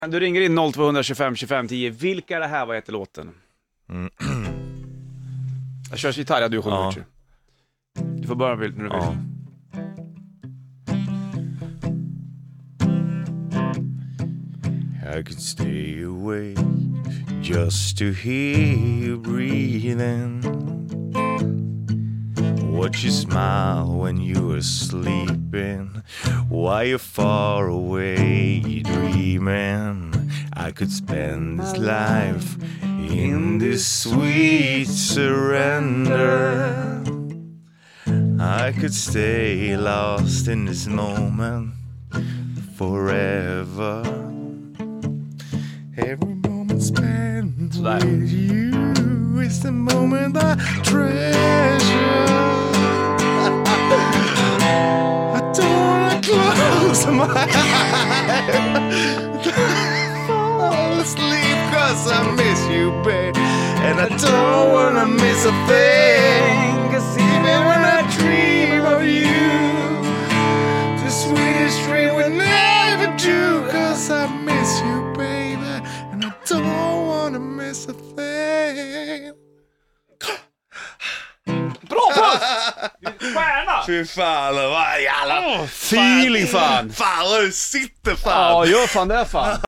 Du ringer in 0225 25 10. Vilka är det här? Vad heter låten? Jag kör gitarr, du sjunger. Ja. Du får börja när du vill. Ja. I could stay awake just to hear you breathing. Watch you smile when you were sleeping, while you're far away dreaming. I could spend this life in this sweet surrender. I could stay lost in this moment forever. Every moment spent with you is the moment I treasure. I don't wanna close my eyes, fall asleep 'cause I miss you, babe. And I don't wanna miss a thing, 'cause even when I dream of you, the sweetest dream will never do, 'cause I miss you, baby. And I don't wanna miss a thing. Bra puss! Stjärna! Fy fan, vad jävla Feeling fan! Fan, vad du sitter fan! Ja, gör fan det fan!